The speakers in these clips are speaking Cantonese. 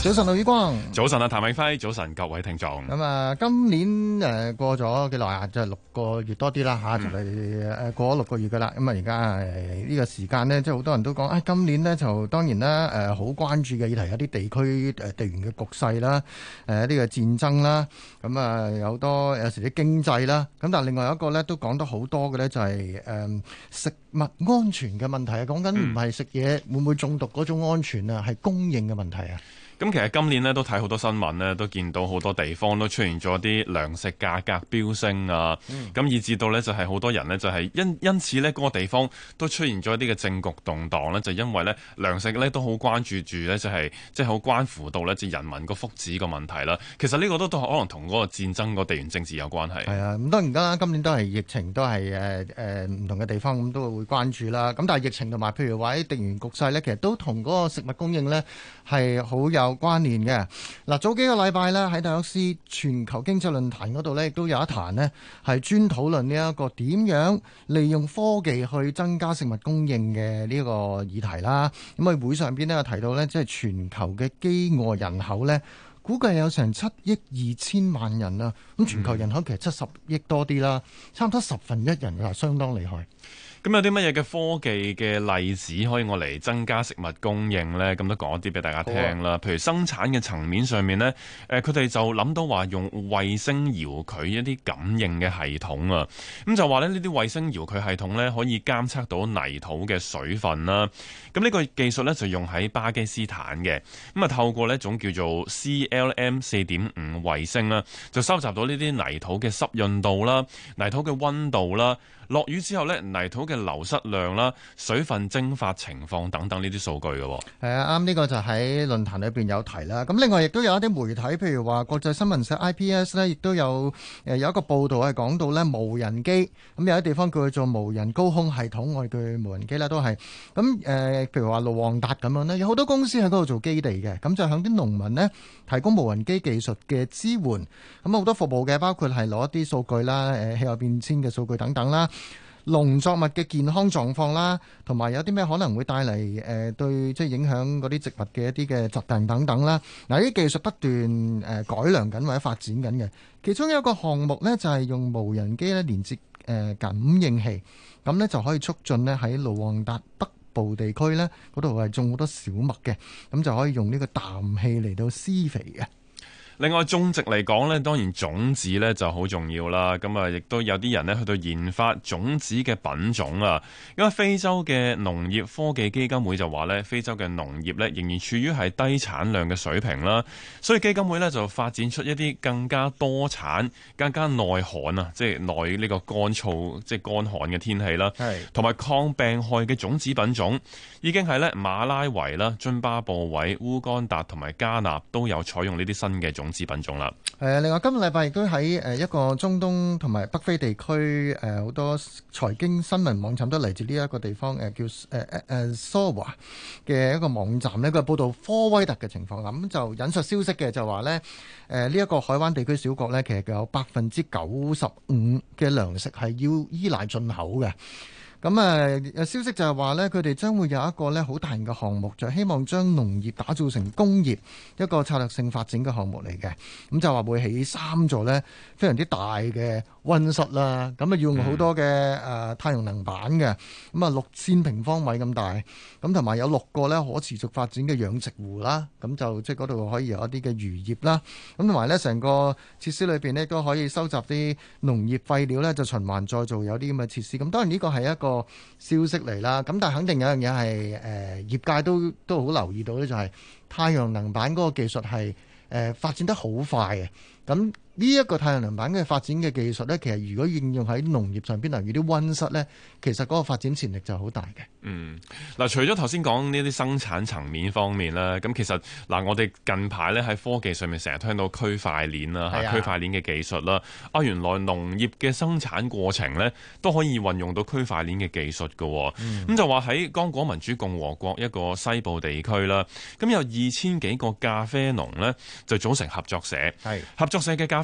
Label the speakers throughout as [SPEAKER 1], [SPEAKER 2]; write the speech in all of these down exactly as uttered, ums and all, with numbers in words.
[SPEAKER 1] 早晨，盧宇光。
[SPEAKER 2] 早晨啊，譚永輝。早晨，各位聽眾。
[SPEAKER 1] 咁啊，今年誒過咗幾耐啊？就係六個月多啲啦嚇，就嚟誒過咗六個月噶啦。咁啊，而家誒呢個時間呢，即係好多人都講啊，今年呢，就當然啦誒，好關注嘅議題有啲地區誒地緣嘅局勢啦，誒呢個戰爭啦，咁啊有好多有時啲經濟啦。咁但係另外一個咧都講得好多嘅咧，就係誒食物安全嘅問題啊。講緊唔係食嘢會唔會中毒嗰種安全啊，係供應嘅問題啊。
[SPEAKER 2] 咁其實今年咧都睇好多新聞咧，都見到好多地方都出現咗啲糧食價格飆升啊，咁、嗯、以至到咧就係好多人咧就係因因此咧嗰個地方都出現咗一啲嘅政局動盪咧，就因為咧糧食咧都好關注住咧就係即係好關乎到咧即係人民個福祉個問題啦。其實呢個都都可能同嗰個戰爭個地緣政治有關係。係啊，咁當然啦，今年都係疫情都係誒誒唔同嘅地方咁都會關注啦。咁但係疫情同埋譬如話啲地緣局勢咧，其實都同嗰個食物供應咧係好有有關聯嘅。嗱，早幾個禮拜呢，喺達沃斯全球經濟論壇嗰度呢，亦都有一壇呢係專討論呢一個點樣利用科技去增加食物供應嘅呢個議題啦。咁啊，會上邊呢，有提到呢，即係全球嘅飢餓人口呢，估計有成七億二千萬人啊。咁全球人口其實七十億多啲啦，差唔多十分一人啊，相當厲害。咁有啲乜嘢嘅科技嘅例子可以我嚟增加食物供應呢？咁都講一啲俾大家聽啦。譬如生產嘅層面上面呢，誒佢哋就諗到話用衛星遙距一啲感應嘅系統啊。咁就話咧呢啲衛星遙距系統呢，可以監測到泥土嘅水分啦。咁呢個技術呢，就用喺巴基斯坦嘅。咁啊透過呢一種叫做 C L M 四點五衛星啦，就收集到呢啲泥土嘅濕潤度啦、泥土嘅溫度啦。落雨之後呢，泥土嘅流失量啦、水分蒸發情況等等呢啲數據嘅。係
[SPEAKER 1] 啊，啱，呢個就喺論壇裏邊有提啦。咁另外亦都有一啲媒體，譬如話國際新聞社 I P S 呢，亦都有誒有一個報導係講到呢無人機。咁有啲地方叫佢做無人高空系統，我哋叫無人機啦，都係咁誒。譬如話盧旺達咁樣呢，有好多公司喺嗰度做基地嘅，咁就向啲農民呢提供無人機技術嘅支援。咁好多服務嘅，包括係攞一啲數據啦、誒氣候變遷嘅數據等等啦。農作物嘅健康狀況啦，同埋有啲咩可能會帶嚟誒對即係影響嗰啲植物嘅一啲嘅疾病等等啦。嗱，呢啲技術不斷誒改良緊或者發展緊嘅。其中有一個項目呢，就係用無人機咧連接誒感應器，咁呢就可以促進呢喺盧旺達北部地區呢嗰度係種好多小麥嘅，咁就可以用呢個氮氣嚟到施肥嘅。
[SPEAKER 2] 另外種植嚟講呢，當然種子呢就好重要啦。咁啊，亦都有啲人呢去到研發種子嘅品種啊。因為非洲嘅農業科技基金會就話呢，非洲嘅農業呢仍然處於係低產量嘅水平啦。所以基金會呢就發展出一啲更加多產、更加耐旱啊，即係耐呢個乾燥、即係乾旱嘅天氣啦。係同埋抗病害嘅種子品種，已經係呢馬拉維啦、津巴布韋、烏干達同埋加納都有採用呢啲新嘅種子品種啦。
[SPEAKER 1] 誒，另外今個禮拜亦都喺誒一個中東同埋北非地區誒好多財經新聞網站都嚟自呢一個地方誒叫誒誒誒 Sawa 嘅一個網站呢，佢報道科威特嘅情況啦。咁就引述消息嘅就話呢，誒呢一個海灣地區小國呢，其實有百分之九十五嘅糧食係要依賴進口嘅。咁啊，有消息就係話呢，佢哋將會有一個呢好大型嘅項目，就係希望將農業打造成工業，一個策略性發展嘅項目嚟嘅。咁就話會起三座呢非常之大嘅溫室啦，咁啊要用好多嘅誒太陽能板嘅，咁啊六千平方米咁大，咁同埋有六個呢可持續發展嘅養殖湖啦，咁就即係嗰度可以有一啲嘅漁業啦，咁同埋呢成個設施裏邊呢都可以收集啲農業廢料呢，就循環再造，有啲咁嘅設施。咁當然呢個係一個消息嚟啦，咁但係肯定有樣嘢係誒業界都都好留意到呢，就係太陽能板嗰個技術係誒、呃、發展得好快嘅，咁。呢一個太陽能板嘅發展嘅技術呢，其實如果應用喺農業上邊，例如啲溫室呢，其實嗰個發展潛力就好大嘅。嗯，
[SPEAKER 2] 嗱，除咗頭先講呢啲生產層面方面啦，咁其實嗱，我哋近排呢喺科技上面成日聽到區塊鏈啦，嚇區塊鏈嘅技術啦，啊，原來農業嘅生產過程呢都可以運用到區塊鏈嘅技術嘅。咁、嗯、就話喺剛果民主共和國一個西部地區啦，咁有二千幾個咖啡農呢就組成合作社，係合作社嘅咖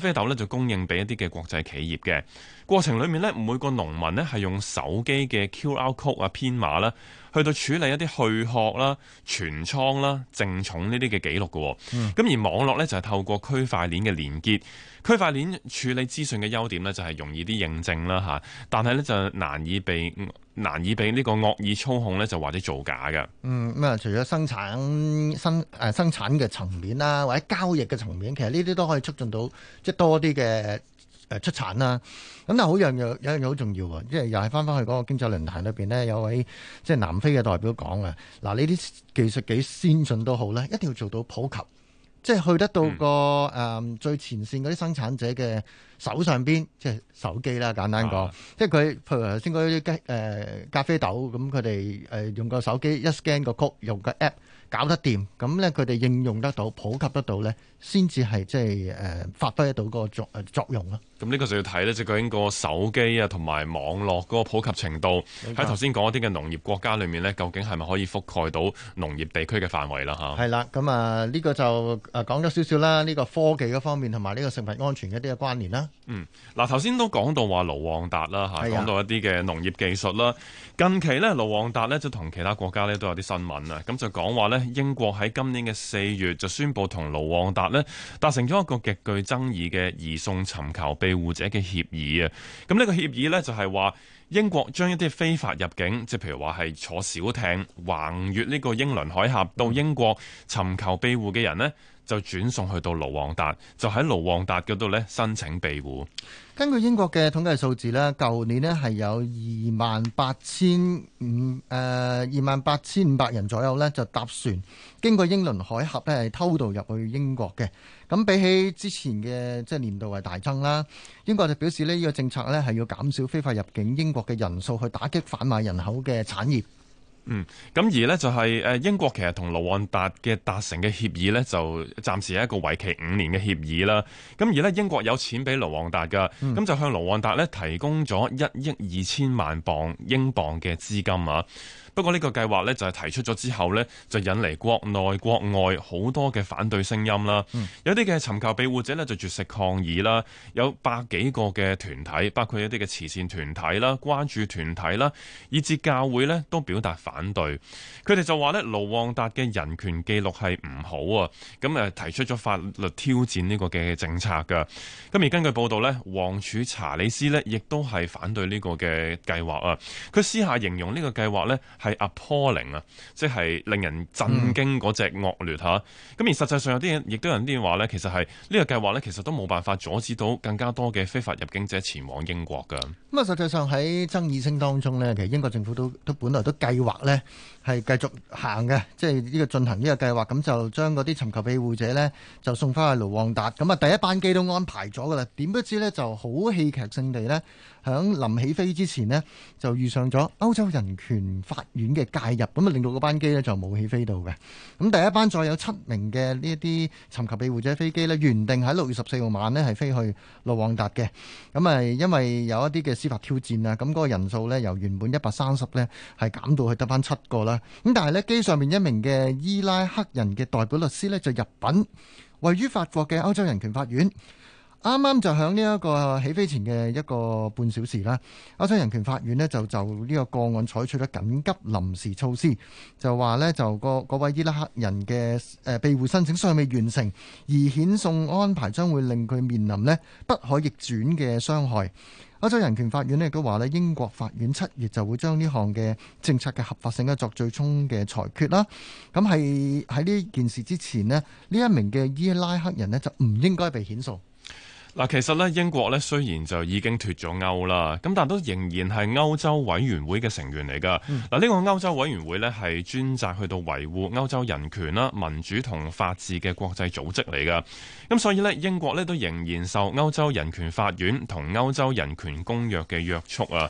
[SPEAKER 2] 啡豆咧就供應俾一啲嘅國際企業嘅。過程裏面咧，每個農民咧係用手機嘅 Q R code 啊編碼啦，去到處理一啲去殼啦、存倉啦、淨重呢啲嘅記錄嘅。咁、嗯、而網絡咧就係透過區塊鏈嘅連結，區塊鏈處理資訊嘅優點咧就係容易啲認證啦嚇，但係咧就難以被難以被呢個惡意操控咧，就或者造假嘅。
[SPEAKER 1] 嗯，咁啊，除咗生產生誒生產嘅層面啦，或者交易嘅層面，其實呢啲都可以促進到即係多啲嘅誒出產啦。咁但係好樣有有樣嘢好重要喎，即係又係翻翻去嗰個經濟論壇裏邊呢，有位即係南非嘅代表講啊，嗱呢啲技術幾先進都好咧，一定要做到普及。即係去得到個誒、嗯嗯、最前線嗰啲生產者嘅手上邊，即係手機啦，簡單講。啊、即係佢，譬如頭先嗰啲誒咖啡豆，咁佢哋誒用個手機一 scan 個曲，用個 app 搞得掂，咁咧佢哋應用得到、普及得到咧，先至係即係誒發揮得到個作誒作用咯。
[SPEAKER 2] 咁呢個就要睇咧，即係究竟個手機啊同埋網絡嗰個普及程度，喺頭先講一啲嘅農業國家裏面咧，究竟係咪可以覆蓋到農業地區嘅範圍啦？嚇，係啦，
[SPEAKER 1] 咁啊呢個就誒講咗少少啦，呢個科技嗰方面同埋呢個食物安全一啲嘅關聯啦。
[SPEAKER 2] 嗯，嗱頭先都講到話盧旺達啦嚇，講到一啲嘅農業技術啦。近期咧盧旺達咧就同其他國家咧都有啲新聞啊，咁就講話咧英國喺今年嘅四月就宣布同盧旺達咧達成咗一個極具爭議嘅移送尋求庇護者嘅協議啊。咁呢個協議咧就係話英國將一啲非法入境，即係譬如話係坐小艇橫越呢個英倫海峽到英國尋求庇護嘅人呢，就轉送去到盧旺達，就喺盧旺達嗰度咧申請庇護。
[SPEAKER 1] 根據英國嘅統計數字呢，舊年呢係有二萬八千五誒二萬八千五百人左右呢，就搭船經過英倫海峽呢係偷渡入去英國嘅。咁比起之前嘅即係年度係大增啦。英國就表示呢，呢個政策呢係要減少非法入境英國嘅人數，去打擊販賣人口嘅產業。
[SPEAKER 2] 嗯，咁而呢就係誒英國其實同盧旺達嘅達成嘅協議呢，就暫時係一個為期五年嘅協議啦。咁而呢英國有錢俾盧旺達噶，咁、嗯、就向盧旺達呢提供咗一億二千萬鎊英鎊嘅資金啊。不過呢個計劃呢，就係提出咗之後呢，就引嚟國內國外好多嘅反對聲音啦。嗯、有啲嘅尋求庇護者呢，就絕食抗議啦，有百幾個嘅團體，包括一啲嘅慈善團體啦、關注團體啦，以至教會呢，都表達反對。佢哋就話呢，盧旺達嘅人權記錄係唔好啊，咁誒提出咗法律挑戰呢個嘅政策㗎。咁而根據報道呢，王儲查理斯呢，亦都係反對呢個嘅計劃啊。佢私下形容呢個計劃呢，係 appalling 啊，即係令人震驚嗰隻惡劣嚇。咁、嗯、而實際上有啲嘢，亦都有啲話咧，其實係呢個計劃咧，其實都冇辦法阻止到更加多嘅非法入境者前往英國㗎。咁啊，
[SPEAKER 1] 實際上喺爭議聲當中呢，其實英國政府都都本來都計劃呢係繼續行嘅，即係呢個進行呢個計劃，咁就將嗰啲尋求庇護者呢就送翻去盧旺達。咁啊，第一班機都安排咗㗎啦，點不知呢就好戲劇性地呢，響臨起飛之前呢，就遇上咗歐洲人權法院嘅介入，咁啊令到嗰班機呢就冇起飛到嘅。咁第一班再有七名嘅呢一啲尋求庇護者飛機呢，原定喺六月十四號晚呢係飛去盧旺達嘅。咁啊，因為有一啲嘅司法挑戰啊，咁嗰個人數呢由原本一百三十呢係減到去得翻七個啦。咁但係呢，機上面一名嘅伊拉克人嘅代表律師呢就入稟位於法國嘅歐洲人權法院。啱啱就喺呢一個起飛前嘅一個半小時啦，歐洲人權法院呢就就呢個個案採取咗緊急臨時措施，就話呢，就個嗰位伊拉克人嘅誒庇護申請尚未完成，而遣送安排將會令佢面臨呢不可逆轉嘅傷害。歐洲人權法院呢亦都話呢，英國法院七月就會將呢項嘅政策嘅合法性呢作最終嘅裁決啦。咁係喺呢件事之前呢，呢一名嘅伊拉克人呢就唔應該被遣送。
[SPEAKER 2] 嗱，其實咧英國咧雖然就已經脫咗歐啦，咁但都仍然係歐洲委員會嘅成員嚟㗎。嗱、嗯，呢個歐洲委員會咧係專責去到維護歐洲人權啦、民主同法治嘅國際組織嚟㗎。咁所以咧英國咧都仍然受歐洲人權法院同歐洲人權公約嘅約束啊。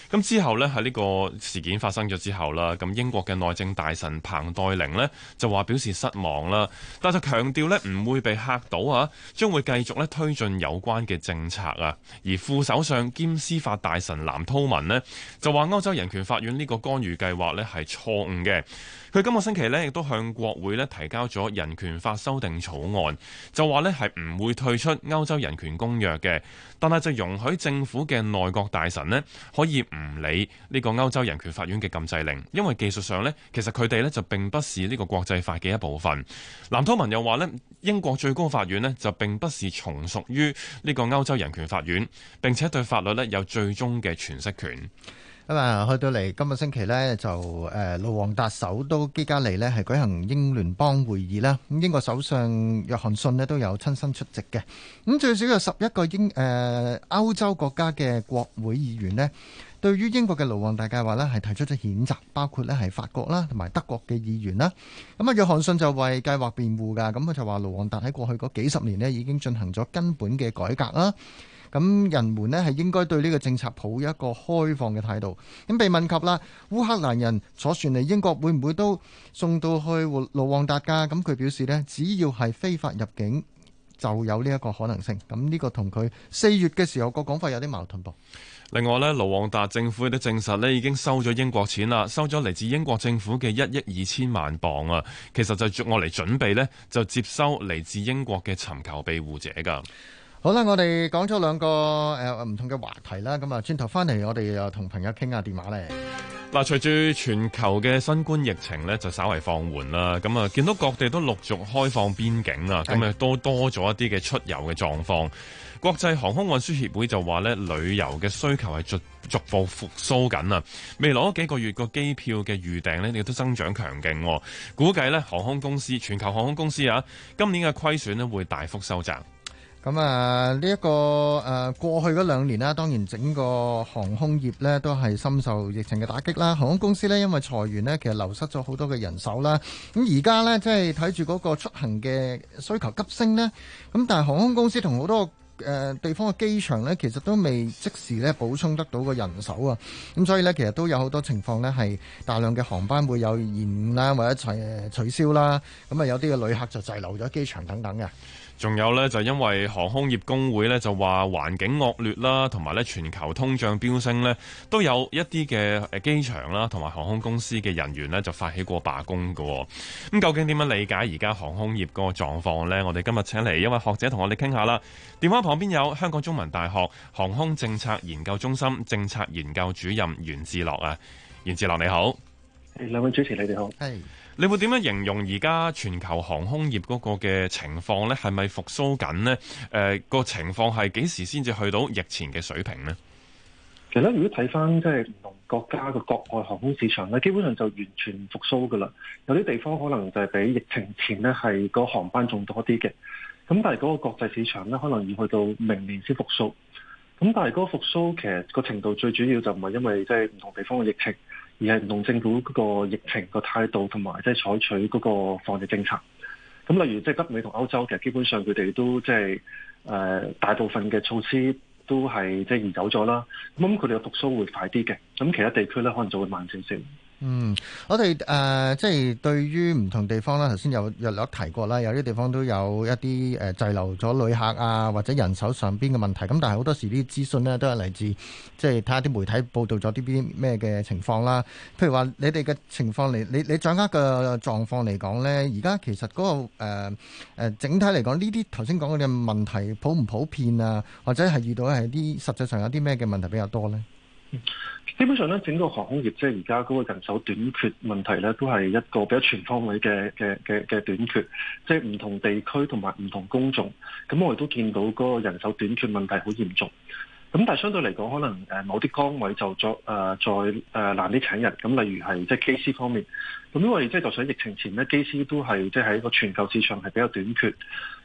[SPEAKER 2] 咁之後呢，喺呢個事件發生咗之後啦，咁英國嘅內政大臣彭黛玲呢就話表示失望啦，但就強調呢唔會被嚇到啊，將會繼續咧推進有關嘅政策啊。而副首相兼司法大臣藍韜文呢就話歐洲人權法院呢個干預計劃呢係錯誤嘅。佢今個星期呢亦都向國會呢提交咗人權法修訂草案，就話呢係唔會退出歐洲人權公約嘅，但係就容許政府嘅內閣大臣呢可以唔理呢個歐洲人權法院嘅禁制令，因為技術上呢其實佢哋呢就並不是呢個國際法嘅一部分。藍韜文又話呢英國最高法院呢就並不是從屬於呢個歐洲人權法院，並且對法律呢有最終嘅詮釋權。
[SPEAKER 1] 咁啊，去到嚟今個星期呢，就誒盧旺達首都基加利呢係舉行英聯邦會議啦。咁英國首相約翰遜呢都有親身出席嘅。咁最少有十一個英誒、呃、歐洲國家嘅國會議員呢，對於英國嘅盧旺達計劃呢係提出咗譴責，包括呢係法國啦同埋德國嘅議員啦。咁啊，約翰遜就為計劃辯護㗎。咁佢就話盧旺達喺過去嗰幾十年呢已經進行咗根本嘅改革啦。咁人們呢係應該對呢個政策抱一個開放嘅態度。咁被問及啦，烏克蘭人坐船嚟英國會唔會都送到去盧旺達㗎？咁佢表示呢，只要係非法入境就有呢一個可能性。咁呢個同佢四月嘅時候個講法有啲矛盾噃。
[SPEAKER 2] 另外呢，盧旺達政府亦都證實呢已經收咗英國錢啦，收咗嚟自英國政府嘅一億二千萬鎊啊。其實就我嚟準備呢，就接收嚟自英國嘅尋求庇護者㗎。
[SPEAKER 1] 好啦，我哋講咗兩個誒唔同嘅話題啦，咁啊轉頭翻嚟，我哋又同朋友傾下電話咧。
[SPEAKER 2] 嗱，隨住全球嘅新冠疫情咧就稍為放緩啦，咁啊見到各地都陸續開放邊境啊，咁啊都多咗一啲嘅出遊嘅狀況。國際航空運輸協會就話咧，旅遊嘅需求係逐逐步復甦緊啊，未來嗰幾個月個機票嘅預訂咧亦都增長強勁，估計咧航空公司全球航空公司啊，今年嘅虧損咧會大幅收窄。
[SPEAKER 1] 咁啊，呢一個誒過去嗰兩年啦，當然整個航空業呢都係深受疫情嘅打擊啦。航空公司呢，因為裁員呢，其實流失咗好多嘅人手啦。咁而家呢，即係睇住嗰個出行嘅需求急升呢。咁但係航空公司同好多誒地方嘅機場呢，其實都未即時呢補充得到個人手啊。咁所以呢，其實都有好多情況呢，係大量嘅航班會有延誤啦，或者取取消啦。咁啊，有啲嘅旅客就滯留咗機場等等嘅。
[SPEAKER 2] 仲有呢，就因為航空業工會呢，就話環境惡劣啦，同埋呢全球通脹飆升呢，都有一啲嘅誒機場啦，同埋航空公司嘅人員呢，就發起過罷工㗎。咁究竟點樣理解而家航空業嗰個狀況呢？我哋今日請嚟一位學者同我哋傾下啦。電話旁邊有香港中文大學航空政策研究中心政策研究主任袁志樂啊，袁志樂你好。
[SPEAKER 3] 兩位主持你哋好。
[SPEAKER 1] 係。
[SPEAKER 2] 你會點樣形容而家全球航空業嗰個嘅情況呢？係咪復甦緊呢？誒、呃，個情況係幾時先至去到疫前嘅水平呢？
[SPEAKER 3] 其實如果睇翻即係唔同國家嘅國外航空市場咧，基本上就完全復甦噶啦。有啲地方可能就係比疫情前呢係個航班仲多啲嘅。咁但係嗰個國際市場呢，可能要去到明年先復甦。咁但係嗰個復甦其實個程度最主要就唔係因為即係唔同地方嘅疫情，而係唔同政府嗰個疫情個態度同埋即係採取嗰個防疫政策。咁例如即係北美同歐洲，其實基本上佢哋都即係誒大部分嘅措施都係即係移走咗啦。咁佢哋嘅復甦會快啲嘅。咁其他地區咧可能就會慢少少。
[SPEAKER 1] 嗯，我哋誒、呃、即係對於唔同地方啦，頭先有約略提過啦，有啲地方都有一啲誒滯留咗旅客啊，或者人手上邊嘅問題。咁但係好多時啲資訊呢都係嚟自即係睇下啲媒體報道咗啲邊咩嘅情況啦。譬如話你哋嘅情況嚟，你你掌握嘅狀況嚟講呢，而家其實嗰、那個誒誒、呃、整體嚟講，呢啲頭先講嘅問題普唔普遍啊？或者係遇到係啲實際上有啲咩嘅問題比較多呢？
[SPEAKER 3] 基本上咧，整個航空業即係而家嗰個人手短缺問題咧，都係一個比較全方位嘅嘅嘅嘅短缺，即係唔同地區同埋唔同工種。咁我哋都見到嗰個人手短缺問題好嚴重。咁但係相對嚟講，可能誒某啲崗位就再誒、呃、再誒、呃、難啲請人。咁例如係即係機師方面，咁因為即係就算喺疫情前咧，機師都係即係喺個全球市場係比較短缺。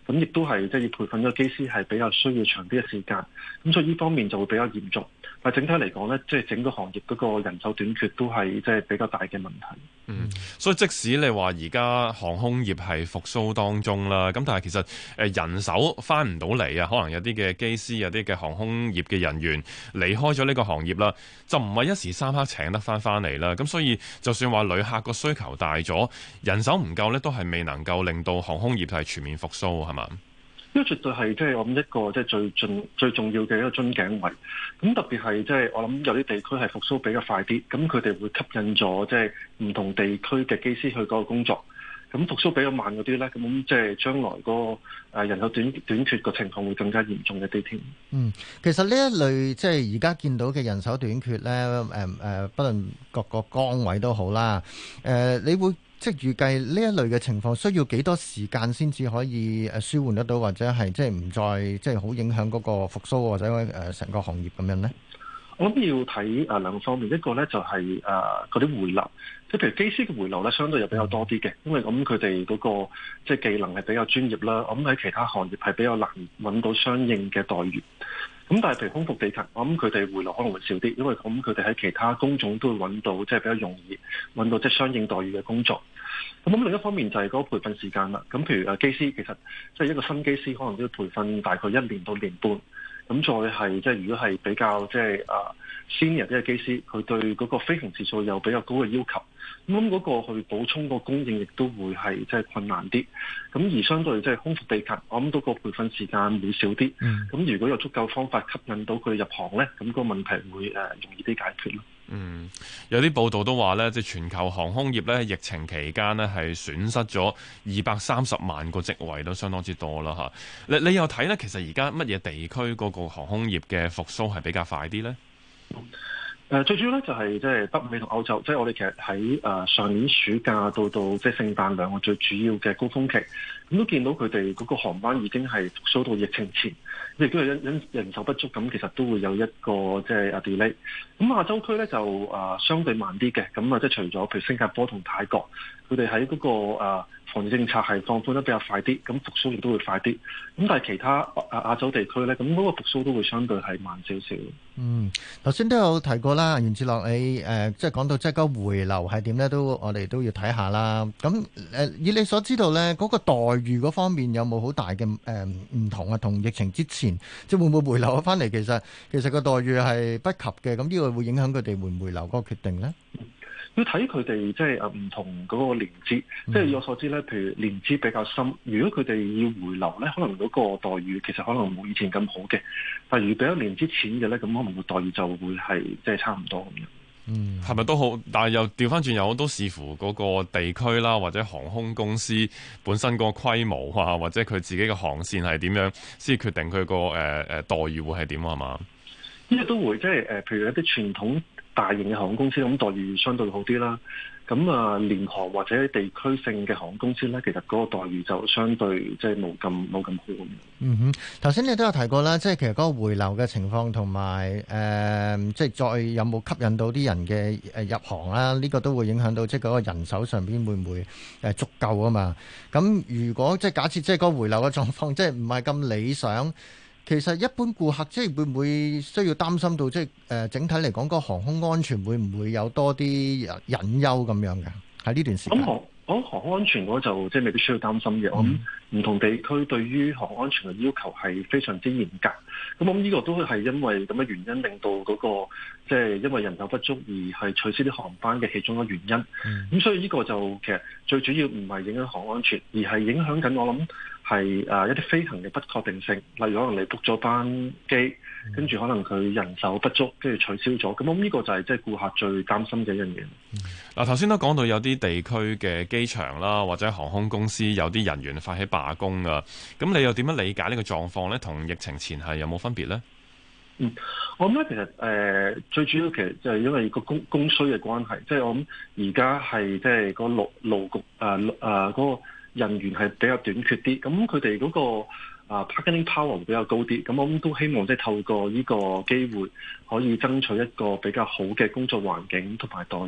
[SPEAKER 3] 咁亦都係即係要培訓咗個機師係比較需要長啲嘅時間，咁所以呢方面就會比較嚴重。但係整體嚟講咧，即係整個行業嗰個人手短缺都係即係比較大嘅問題。
[SPEAKER 2] 嗯，所以即使你話而家航空業係復甦當中啦，咁但係其實誒人手翻唔到嚟啊，可能有啲嘅機師、有啲嘅航空業嘅人員離開咗呢個行業啦，就唔係一時三刻請得翻翻嚟啦。咁所以就算話旅客個需求大咗，人手唔夠呢，都係未能夠令到航空業係全面復甦，係嘛？
[SPEAKER 3] 呢個絕對係即係我諗一個即係最重最重要嘅一個樽頸位。咁特別係即係我諗有啲地區係復甦比較快啲，咁佢哋會吸引咗即係唔同地區嘅機師去嗰個工作。咁復甦比較慢嗰啲咧，咁即係將來嗰個誒人手短短缺嘅情況會更加嚴重一啲添。
[SPEAKER 1] 嗯，其實呢一類即係而家見到嘅人手短缺咧，誒、呃、誒，不論各個崗位都好啦，誒、呃，你會即係預計呢一類嘅情況需要幾多時間先至可以誒舒緩得到，或者係即係唔再即係好影響嗰個復甦或者誒成個行業咁樣呢？
[SPEAKER 3] 我諗要睇誒兩個方面，一個咧就係誒嗰啲回流，即係譬如機師嘅回流咧，相對又比較多啲嘅，因為咁佢哋嗰個即係技能係比較專業啦。我諗喺其他行業係比較難揾到相應嘅待遇。咁但係譬如空服地勤，我諗佢哋回流可能會少啲，因為咁佢哋喺其他工種都會揾到即係比較容易揾到即係相應待遇嘅工作。咁咁另一方面就係嗰個培訓時間啦。咁譬如誒機師，其實即係一個新機師可能都要培訓大概一年到年半。咁再係即係如果係比較即係啊 senior 啲嘅機師，佢對嗰個飛行時數有比較高嘅要求，咁嗰個去補充個供應亦都會係即係困難啲。咁而相對即係空服地勤，我諗嗰個培訓時間會少啲。咁、嗯、如果有足夠方法吸引到佢入行咧，咁、個問題會誒容易啲解決咯。
[SPEAKER 2] 嗯，有啲報道都話咧，即係全球航空業咧，疫情期間咧係損失咗二百三十萬個職位，都相當之多啦嚇。你你又睇咧，其實而家乜嘢地區嗰個航空業嘅復甦係比較快啲咧？
[SPEAKER 3] 誒、呃、最主要咧就係即係北美同歐洲，即、就、係、是、我哋其實喺誒、呃、上年暑假到到即係聖誕兩個最主要嘅高峰期，咁都見到佢哋嗰個航班已經係復甦到疫情前，亦都係因因人手不足，咁其實都會有一個即係 delay。咁亞洲區咧就誒、呃、相對慢啲嘅，咁啊即係除咗譬如新加坡同泰國，佢哋喺嗰個誒、呃防疫政策係放寬得比較快啲，咁復甦亦都會快啲。咁但係其他亞亞洲地區咧，咁嗰個復甦都會相對係慢少少。嗯，
[SPEAKER 1] 頭先都有提過啦，袁志樂你誒、呃、即係講到即係個回流係點咧，都我哋都要睇下啦。咁誒、呃、以你所知道咧，嗰、嗰個待遇嗰方面有冇好大嘅誒唔同啊？同疫情之前，即係會唔會回流翻嚟？其實其實個待遇係不及嘅。咁呢個會影響佢哋回唔回流嗰個決定咧？
[SPEAKER 3] 要睇佢哋即係誒唔同嗰個年資，即係以我所知咧，譬如年資比較深，如果佢哋要回流咧，可能嗰個待遇其實可能冇以前咁好嘅。但係如果比較年資淺嘅咧，咁可能個待遇就會係即係差唔多咁樣。
[SPEAKER 2] 嗯，係咪都好？但係又調翻轉，有好多視乎嗰個地區啦，或者航空公司本身個規模啊，或者佢自己嘅航線係點樣，先決定佢個誒誒待遇會係點啊？係嘛？
[SPEAKER 3] 呢個都會即係誒，譬如一啲傳統大型嘅航空公司咁待遇相對好啲啦，咁啊聯航或者地區性嘅航空公司咧，其實嗰個待遇就相對即係冇咁冇咁好咁。
[SPEAKER 1] 嗯哼，頭先你都有提過啦，即係其實嗰個回流嘅情況同埋誒，即係再有冇吸引到啲人嘅誒入行啦？呢、這個都會影響到即係嗰個人手上邊會唔會誒足夠啊嘛？咁如果即係假設即係嗰個回流嘅狀況即係唔係咁理想。其實一般顧客即係會唔會需要擔心到即係誒整體嚟講個航空安全會唔會有多啲隱憂咁樣嘅喺呢段時間？
[SPEAKER 3] 咁航航空安全嗰就即係未必需要擔心嘅。我諗唔同地區對於航空安全嘅要求係非常之嚴格。咁我諗呢個都係因為咁嘅原因，令到嗰個即係因為人手不足而係取消啲航班嘅其中一個原因。咁、嗯、所以呢個就其實最主要唔係影響航空安全，而係影響緊我諗。係誒一啲飛行嘅不確定性，例如可能你 book 咗班機，跟住可能佢人手不足，跟住取消咗，咁我呢個就係即係顧客最擔心嘅一樣嘢。
[SPEAKER 2] 嗱，頭先都講到有啲地區嘅機場啦，或者航空公司有啲人員發起罷工啊，咁你又點樣理解呢個狀況呢？同疫情前係有冇分別呢？
[SPEAKER 3] 嗯，我諗咧其實誒、呃、最主要其實就係因為個供供需嘅關係，即係我諗而家係即係個勞勞局誒誒嗰個人員係比較短缺啲，咁佢哋嗰個啊 bargaining power 會比較高啲，咁我諗都希望即係透過呢個機會可以爭取一個比較好嘅工作環境同埋待遇。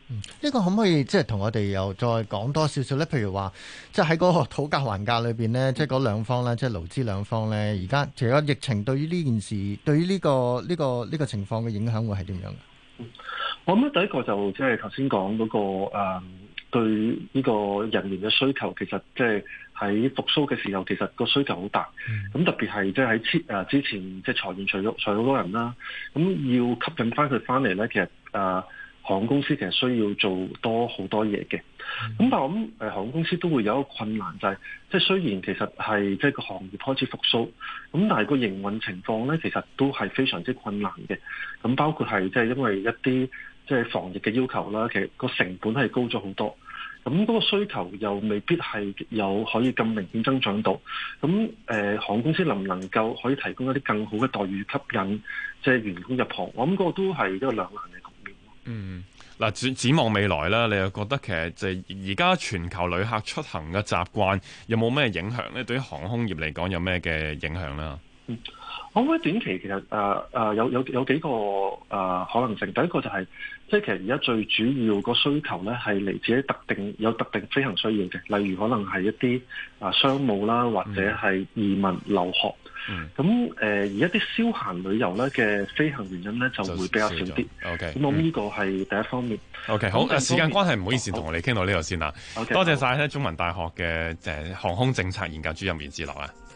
[SPEAKER 1] 呢、這個可唔可以即係同我哋又再講多少少咧？譬如話，即係喺嗰個討價還價裏邊呢，即係嗰兩方咧，即係勞資兩方咧，而家其實疫情對於呢件事，對於呢、這個呢、這個呢、這個情況嘅影響會係點樣嘅？
[SPEAKER 3] 我諗第一個就即係頭先講嗰個誒、呃，對呢個人員嘅需求，其實即係喺復甦嘅時候，其實個需求好大。咁、嗯、特別係即係喺誒之前即係裁員除咗除咗好多人啦，咁要吸引翻佢翻嚟咧，其實誒。呃航空公司其實需要做多好多嘢嘅，咁、嗯、但係我諗誒航空公司都會有一個困難，就係即係雖然其實係即係個行業開始復甦，咁但係個營運情況咧，其實都係非常之困難嘅。咁包括係即係因為一啲即係防疫嘅要求啦，其實個成本係高咗好多，咁嗰個需求又未必係有可以咁明顯增長到。咁誒、呃、航空公司能唔能夠可以提供一啲更好嘅待遇吸引即係員工入行？我諗嗰個都係一個兩難嘅。
[SPEAKER 2] 嗯，嗱，展展望未來啦，你又覺得其實就係而家全球旅客出行嘅習慣有冇咩影響咧？對於航空業嚟講有咩嘅影響咧？
[SPEAKER 3] 嗯，我覺得短期其實誒誒、呃呃、有有有幾個誒、呃、可能性。第一個就係、是、即係其實而家最主要個需求咧係嚟自於特定有特定飛行需要嘅，例如可能係一啲啊商務啦，或者係移民留學。咁誒、嗯，而一啲消閒旅遊咧嘅飛行原因咧就會比較少啲。OK，咁我諗呢個係第一方面。
[SPEAKER 2] OK，好，誒時間關係唔好意思，同我哋傾到呢度先啦。
[SPEAKER 3] Okay,
[SPEAKER 2] 多謝晒咧中文大學嘅誒航空政策研究主任袁志樂啊。